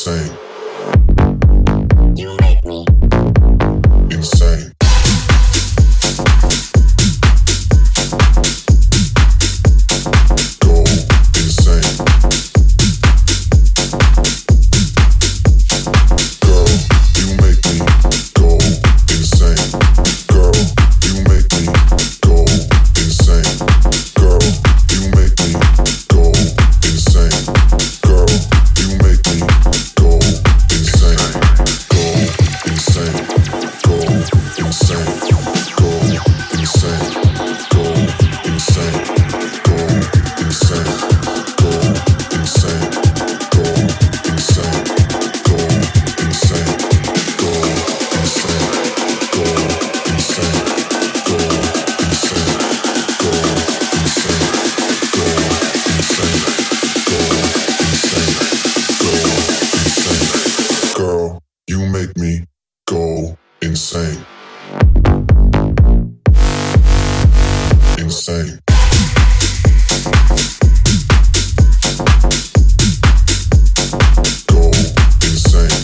insane. You make me insane. Go insane. Girl, you make me go insane. Girl, you make me go insane. Girl, you make me go insane. Girl, you make me go insane. Go insane. Go insane. Go insane. Go insane. Go insane. Go insane. Go insane. Go insane. Go insane. Go insane. Go insane. Go insane. Go insane. Go insane. Girl, you make me go insane. Insane. Go insane.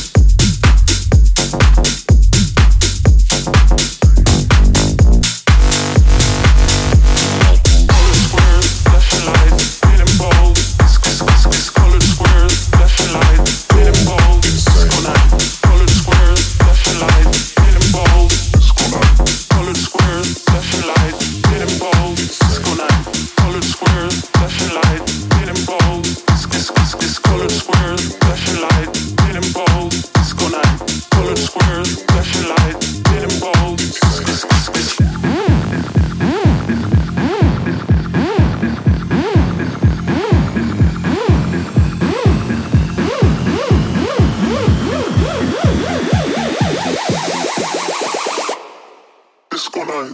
Disco night.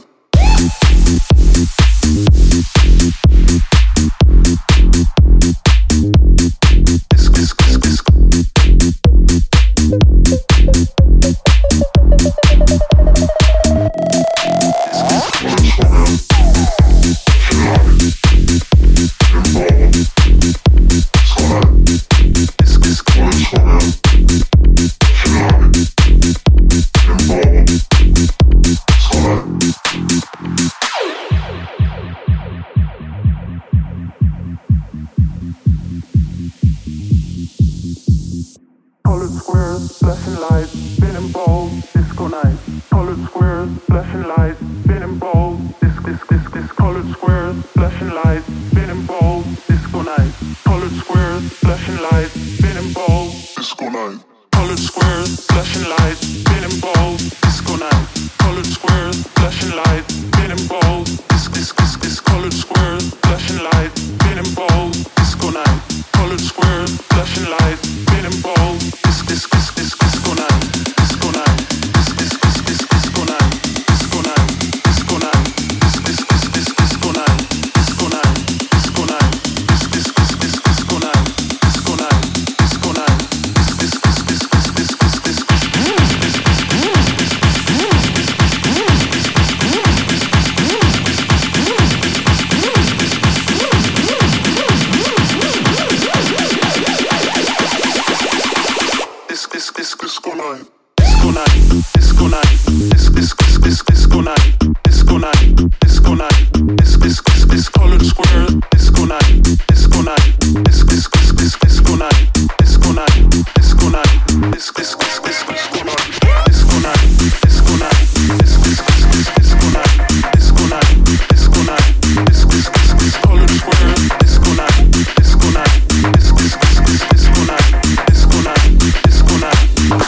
Colored squares, flashing lights, spinning balls, disco night. Colored squares, flashing lights, spinning balls, this. Colored squares, flashing lights, spinning balls, disco night. Colored squares, flashing lights, spinning balls, disco night. Colored squares, flashing lights, spinning balls, disco night. Colored squares, flashing lights, spinning balls, this. Colored squares, flashing lights, spinning balls, disco night. Colored squares, flashing lights, spinning balls, disco night. Disco night. Disco night. Disco night. Disco night. Disco night. Disco night. Disco night. Disco night. Disco night. Disco night. Disco night. Disco night. Disco night. Disco night. Disco night. Disco night. Colored square. Disco night. Disco night. Disco night. Disco night. Disco night. Disco night. Disco night. Disco night. Disco night. Disco night. Disco night. Colored square. Disco night. Disco night. Disco night. Disco night. Disco night.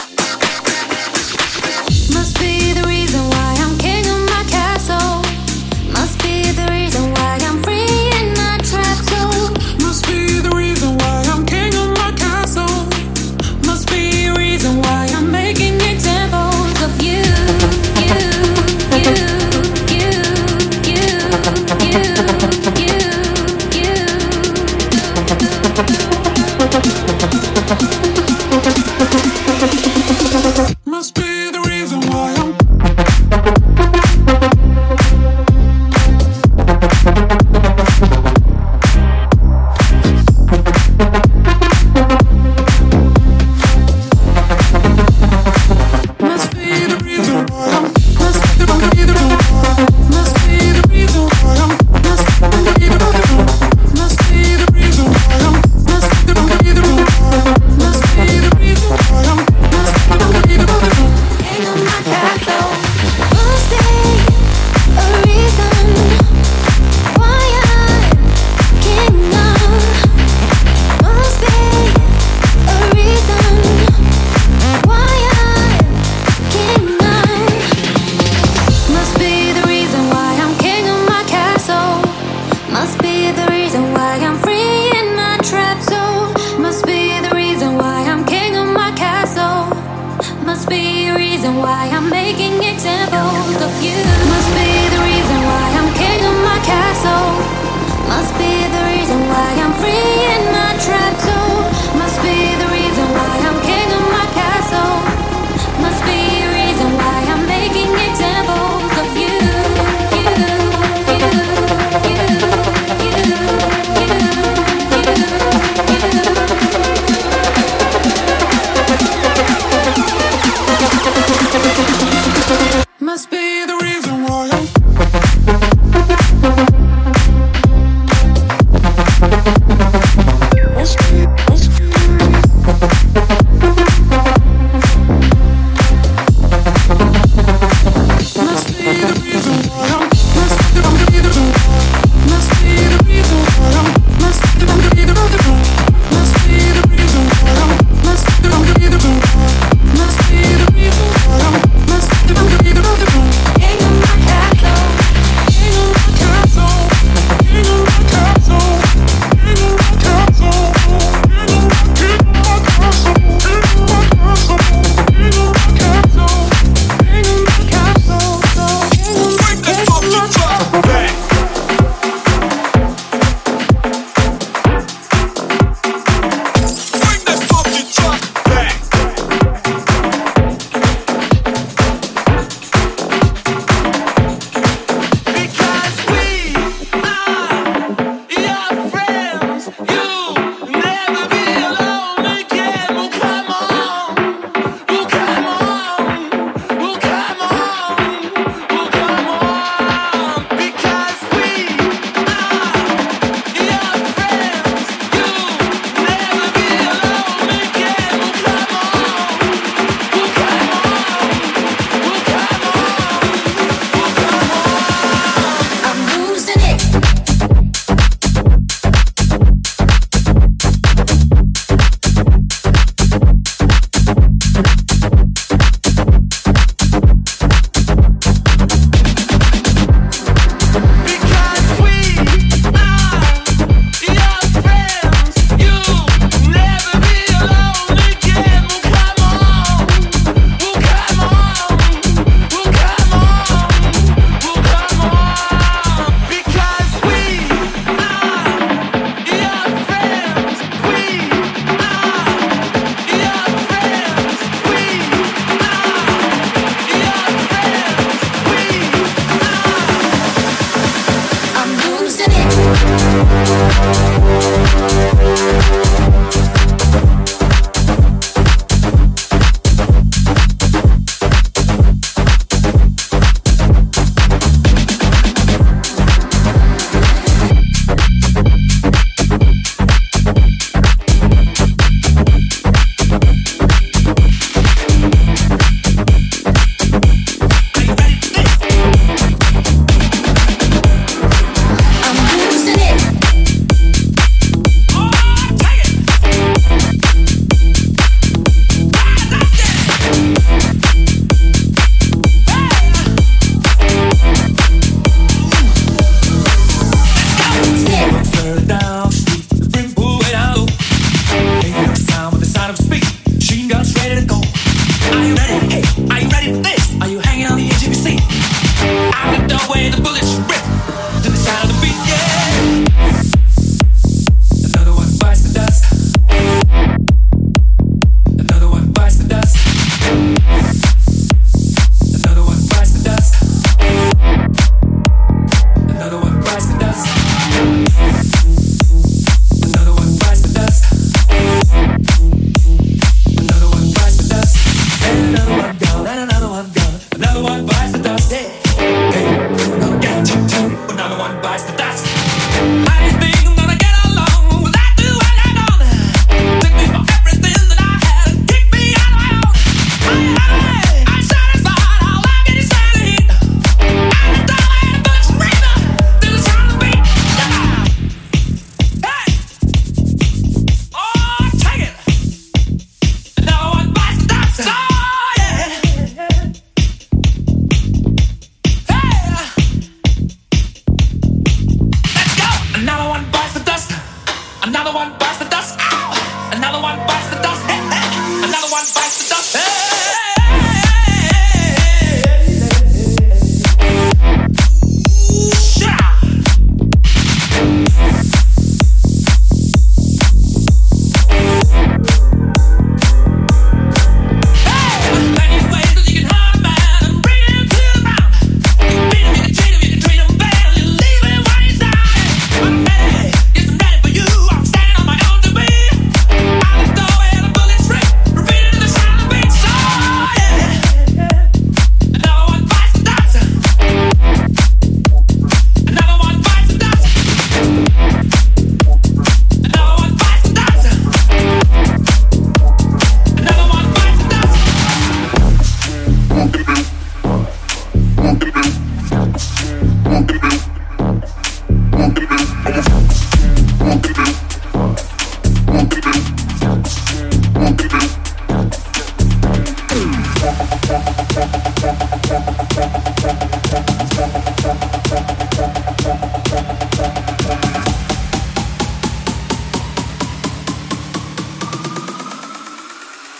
Must be the reason why I'm king of my castle. Must be the reason why I'm free in my trap zone. Must be the reason why I'm king of my castle. why I'm king of my castle. Must be a reason why I'm making examples of you. Must be the reason why I'm king of my castle. Must be the reason why I'm free in my trap soul. Must be the reason why I'm king of my castle. Must be a reason why I'm making examples of you. Must be the reason why I'm must be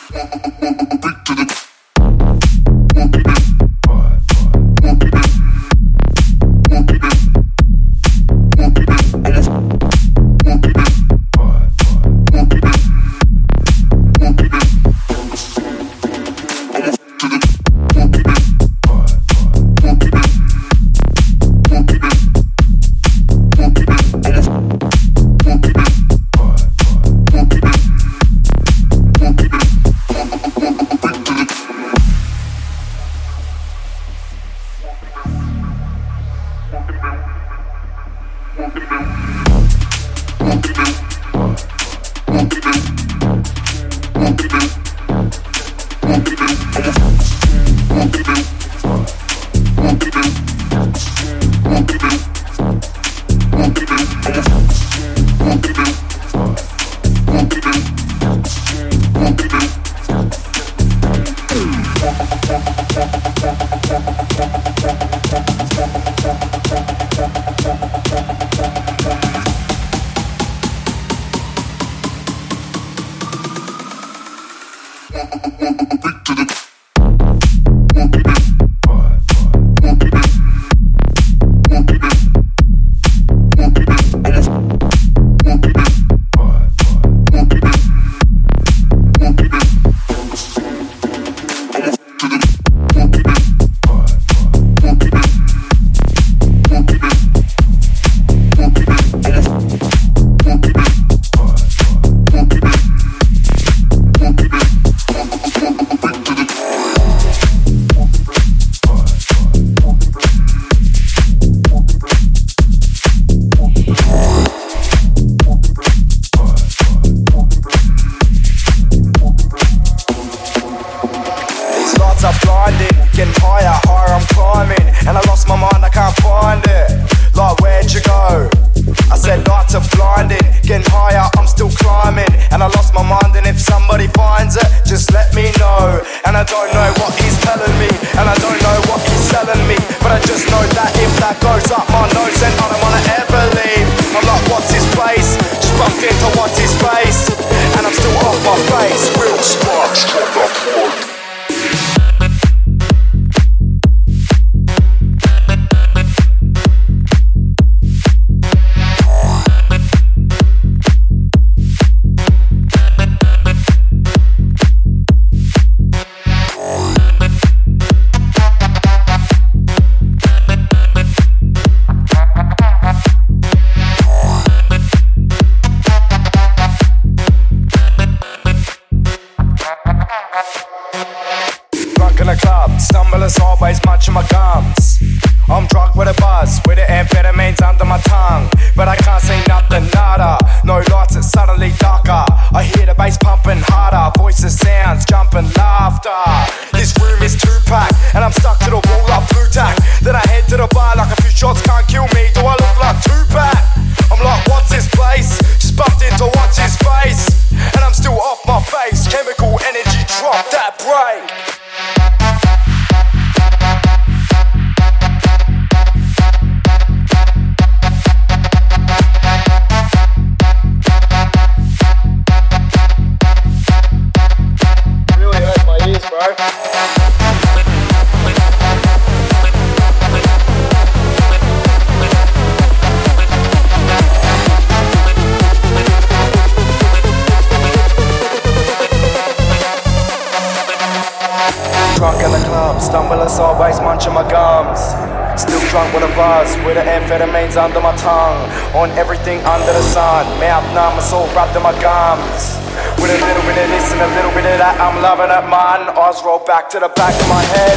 Under my tongue, on everything under the sun. Mouth numb, my soul wrapped in my gums. With a little bit of this and a little bit of that, I'm loving it, man. Eyes roll back to the back of my head.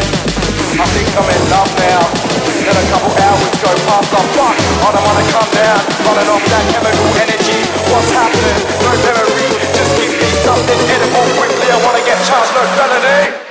I think I'm in love now. Then a couple hours go past, I'm fuck. I don't wanna come down, running off that chemical energy. What's happening? No memory. Just give me something edible quickly. I wanna get charged, no felony.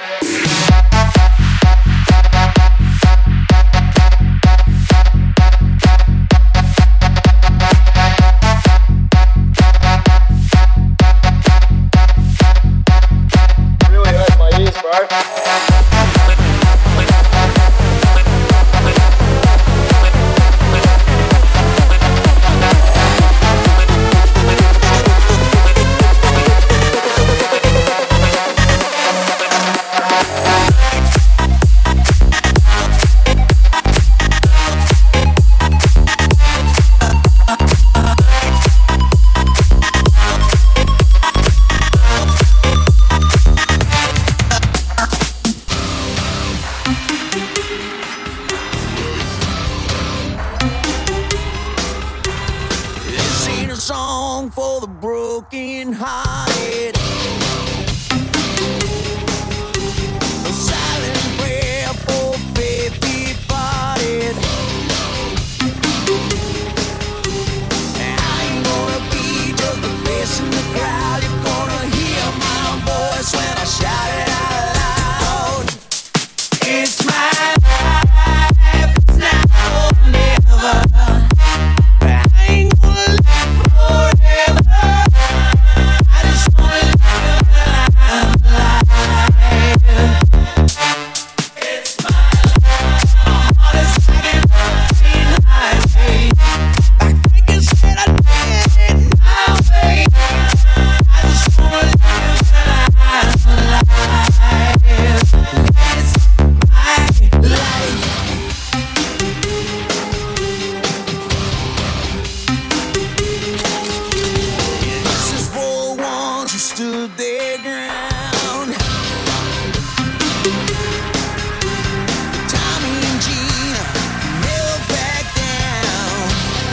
broken hearted. A silent prayer for faith departed. I ain't gonna be just a face in the crowd. You're gonna hear my voice when I shout it out loud. It's my life, it's now or never. I ain't gonna live forever. I just wanna live life. It's my life. My heart is like an open highway. Like they said I did my way. I just wanna live life. It's my life. This is for the ones who stood their ground. Tommy and Gina never back down.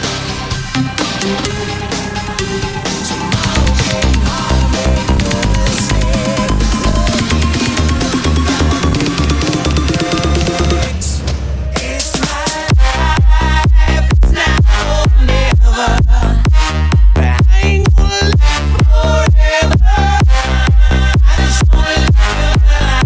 Tomorrow came home and couldn't stay. It's my life, it's now or never. I ain't gonna live forever. I just wanna live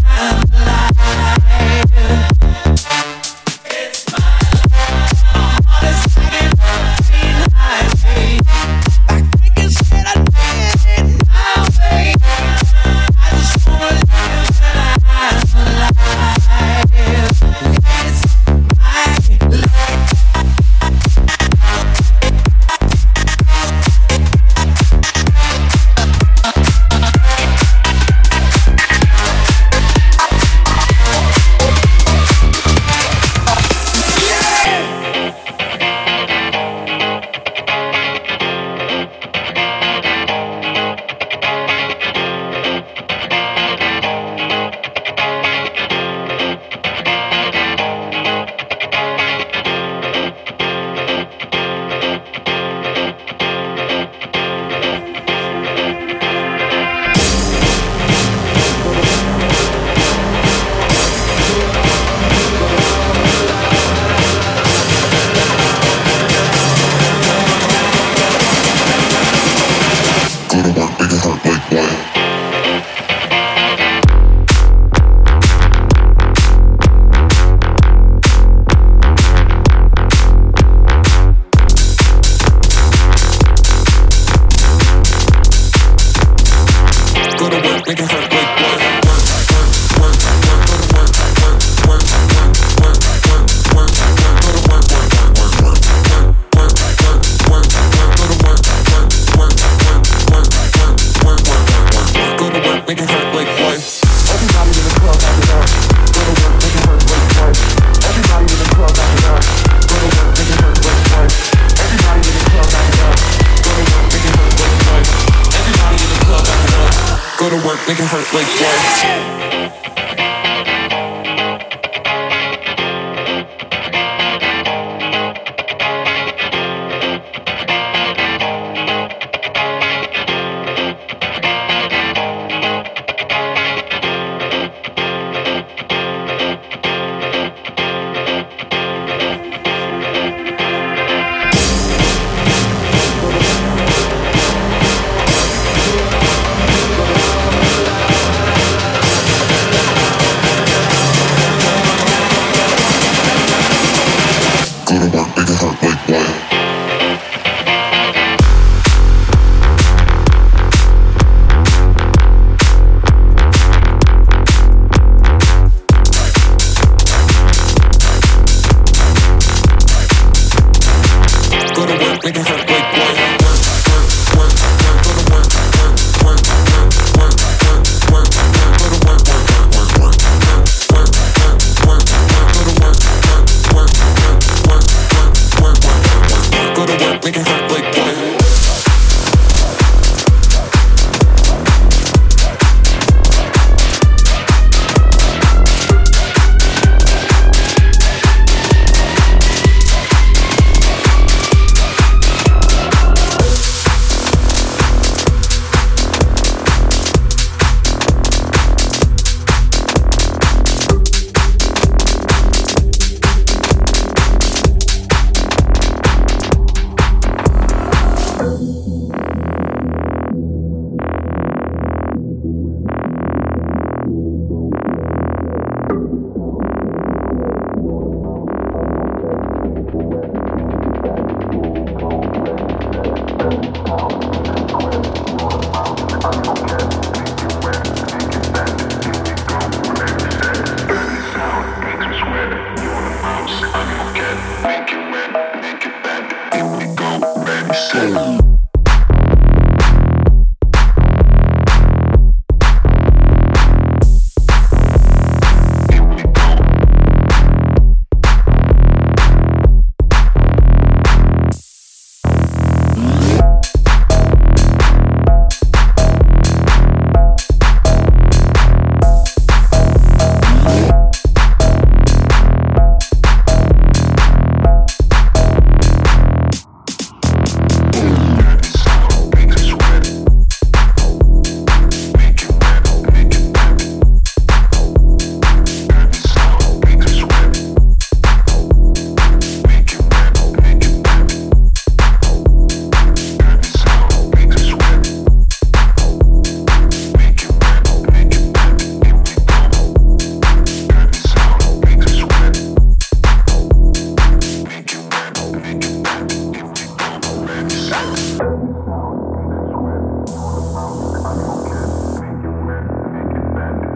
life. It's my life. My heart is like an open highway. Like they said I did my way. I just wanna live life. It's my life. Go to work, make it hurt like what? Go to work, make it hurt like what? Everybody in the club after dark. Go to work, make it hurt like what? Everybody in the club after dark. Go to work, make it hurt like what? Everybody in the club after dark. Go to work, make it hurt like what? Everybody in the club after dark. Go to work, make it hurt like what?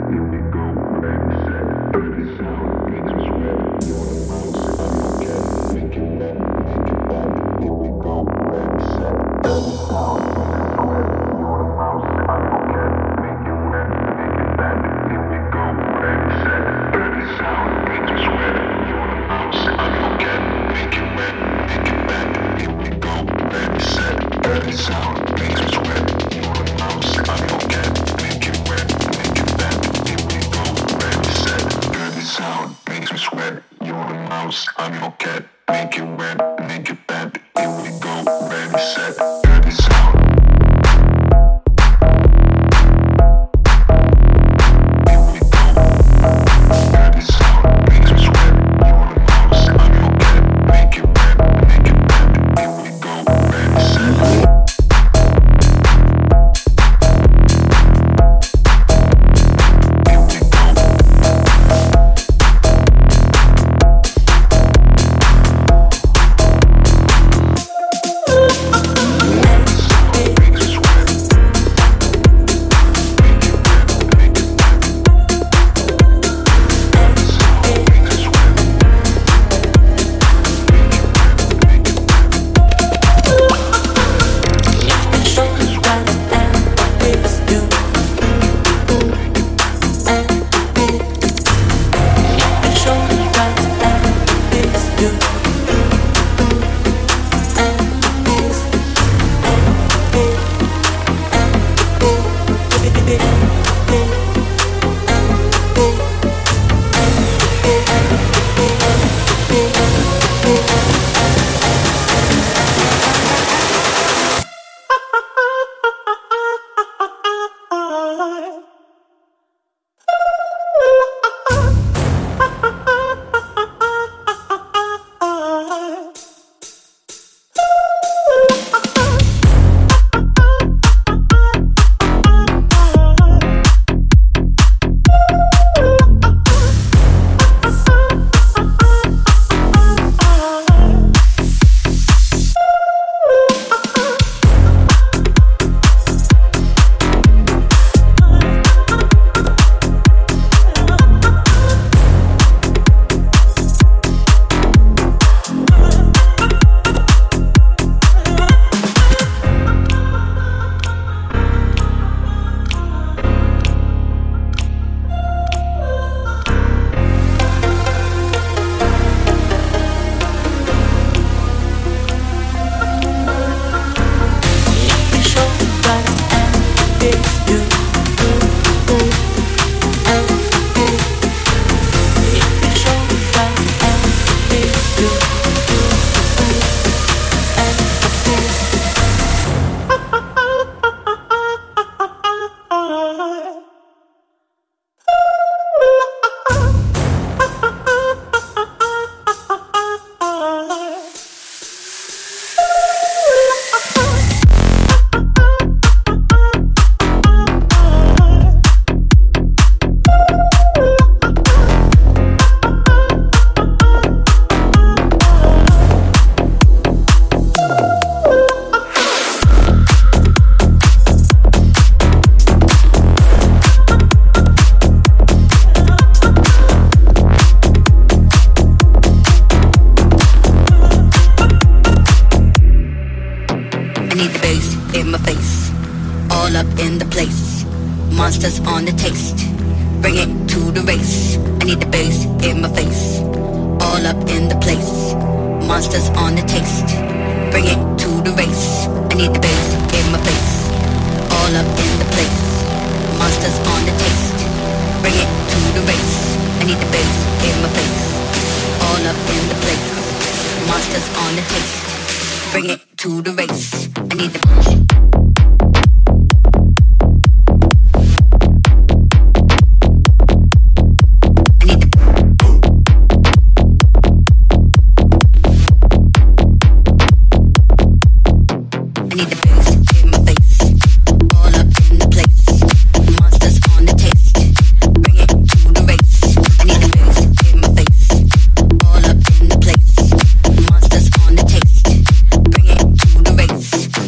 monsters on the taste. Bring it to the race. I need the bass in my face. All up in the place. Monsters on the taste. Bring it to the race. I need the bass in my face. All up in the place. Monsters on the taste. Bring it to the race. I need the bass in my face. All up in the place. Monsters on the taste. Bring it to the race. I need the bass. Bring it to the race.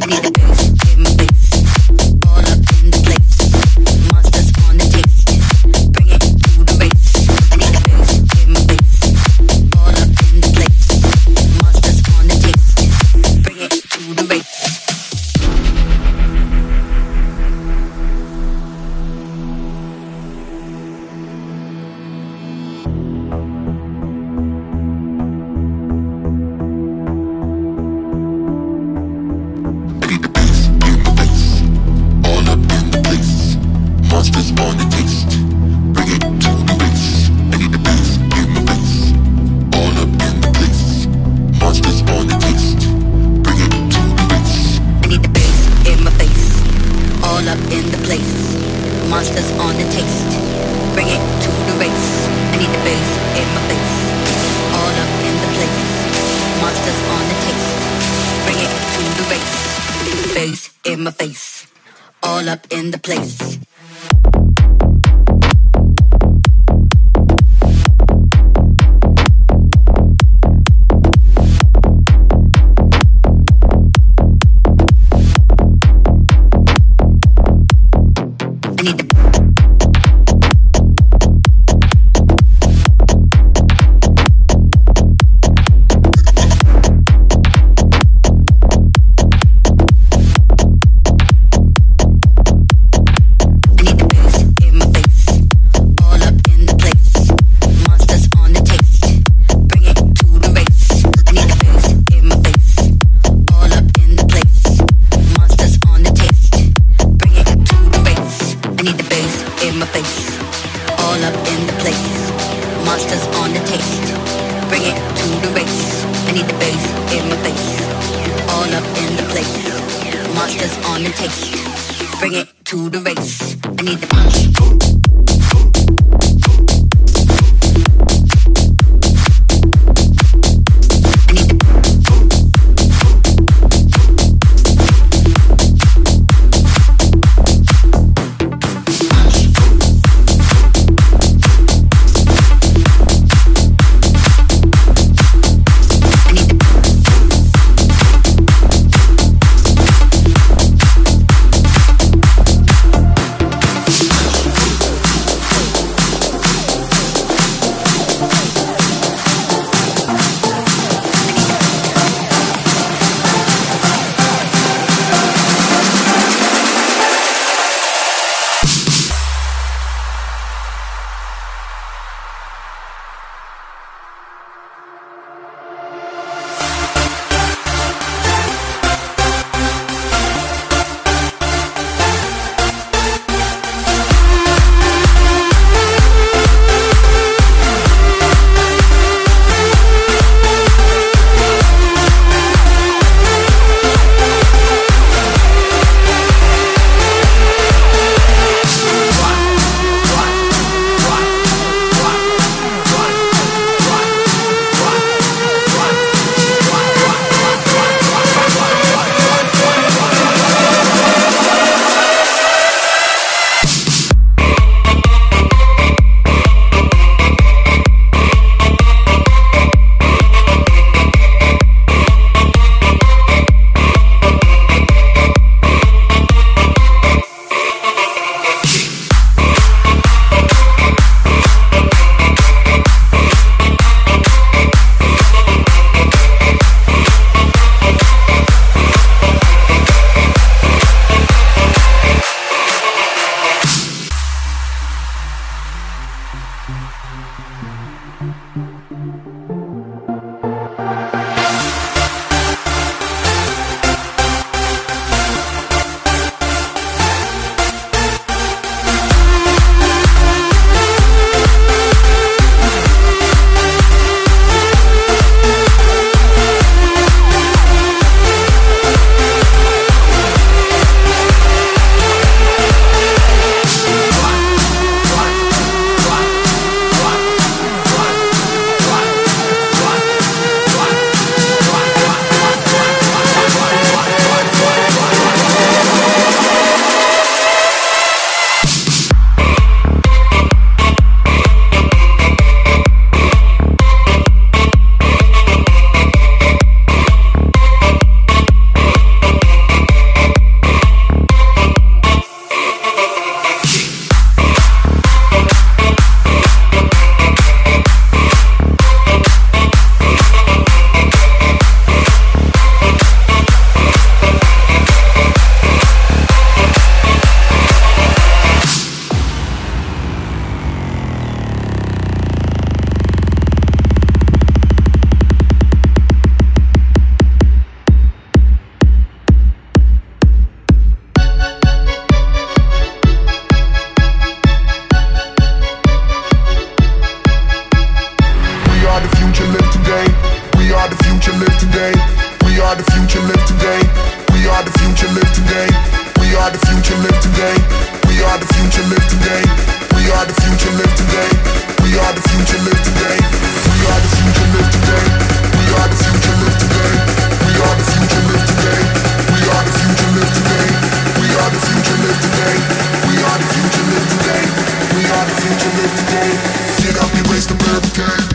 live today. Get up, erase the barricade.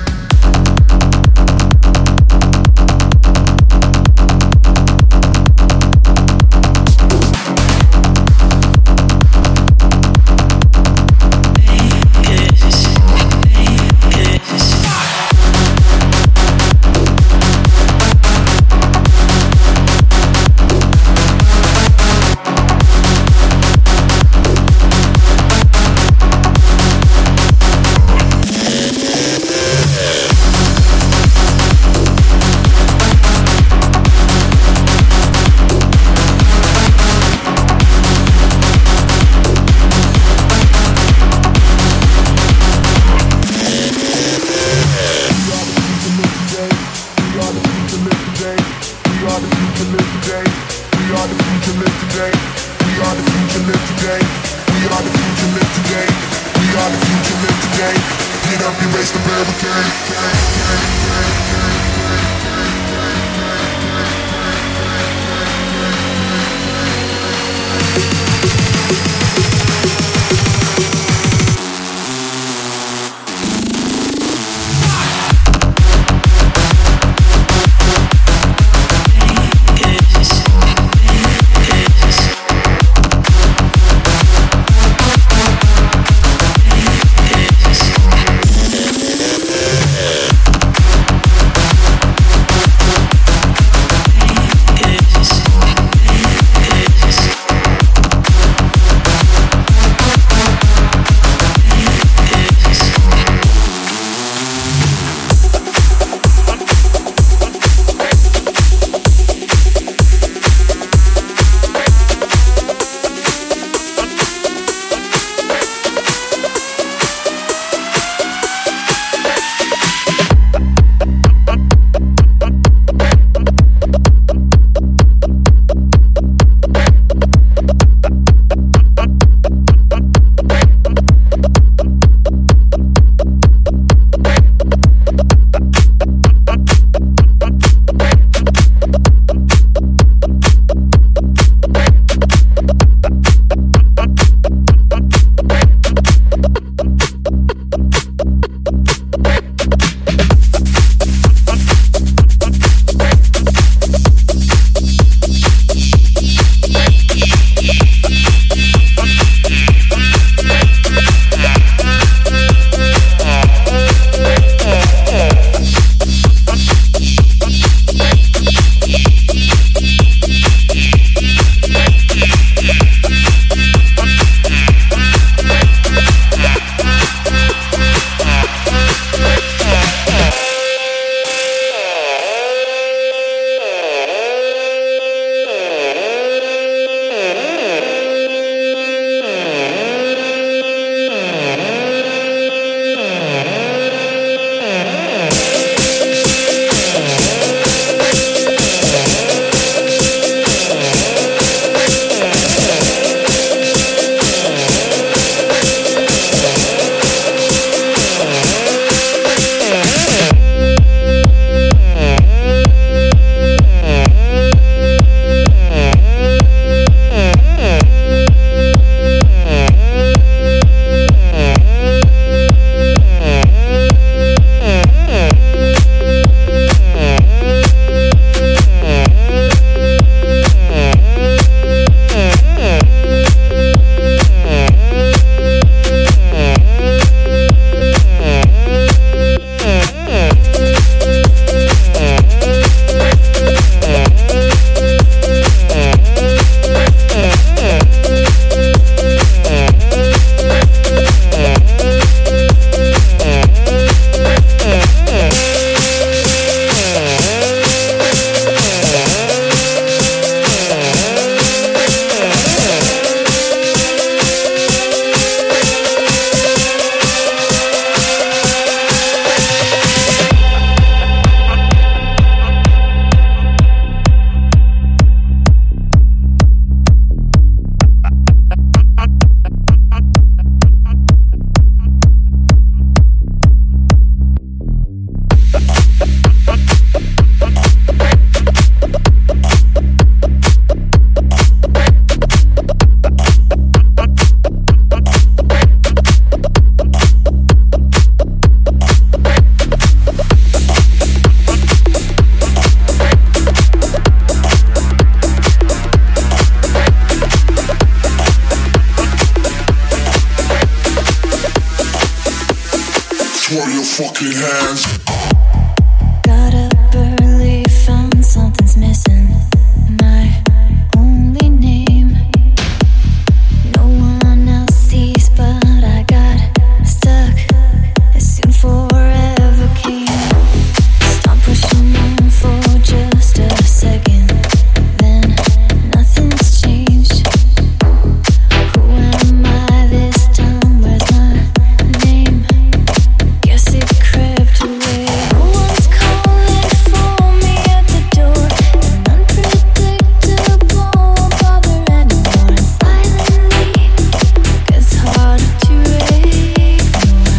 Throw your fucking hands. Got up early, found something's missing. My only name. No one else sees, but I got stuck as soon forever came. Stop pushing on for just a second, then nothing's changed. Who am I this time? Where's my name? Guess it crept away. No one's calling for me at the door. An unpredictable won't bother anymore. And silently gets harder to ignore.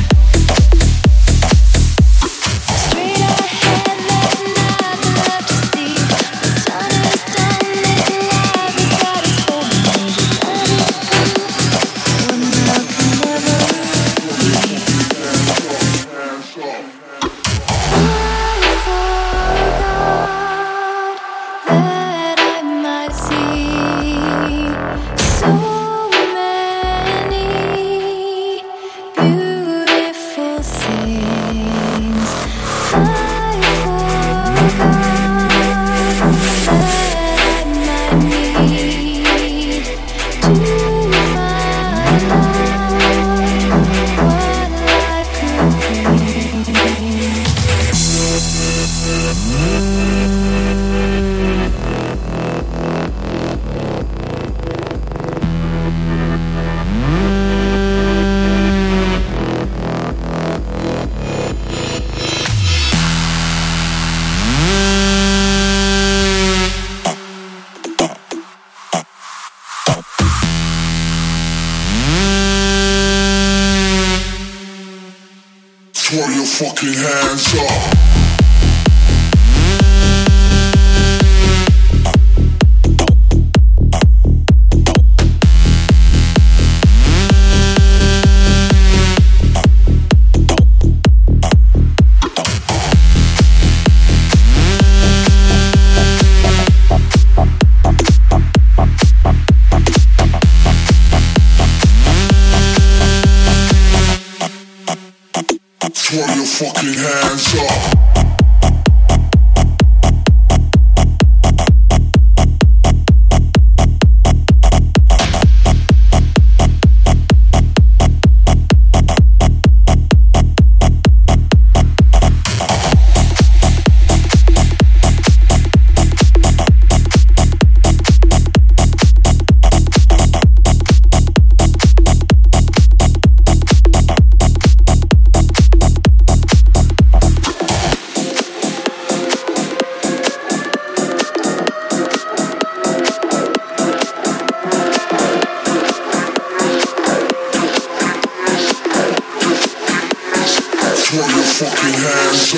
Straight ahead, there's nothing left to see. The sun is done, this life is at its fullest. Let it go. One love can never leave. I forgot that I might see so many beautiful things. I forgot that I might need to find out what life could bring. Throw your fucking hands up. Throw your fucking hands up. Throw your fucking hands